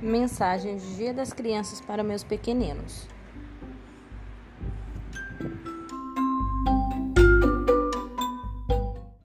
Mensagem de Dia das Crianças para meus pequeninos.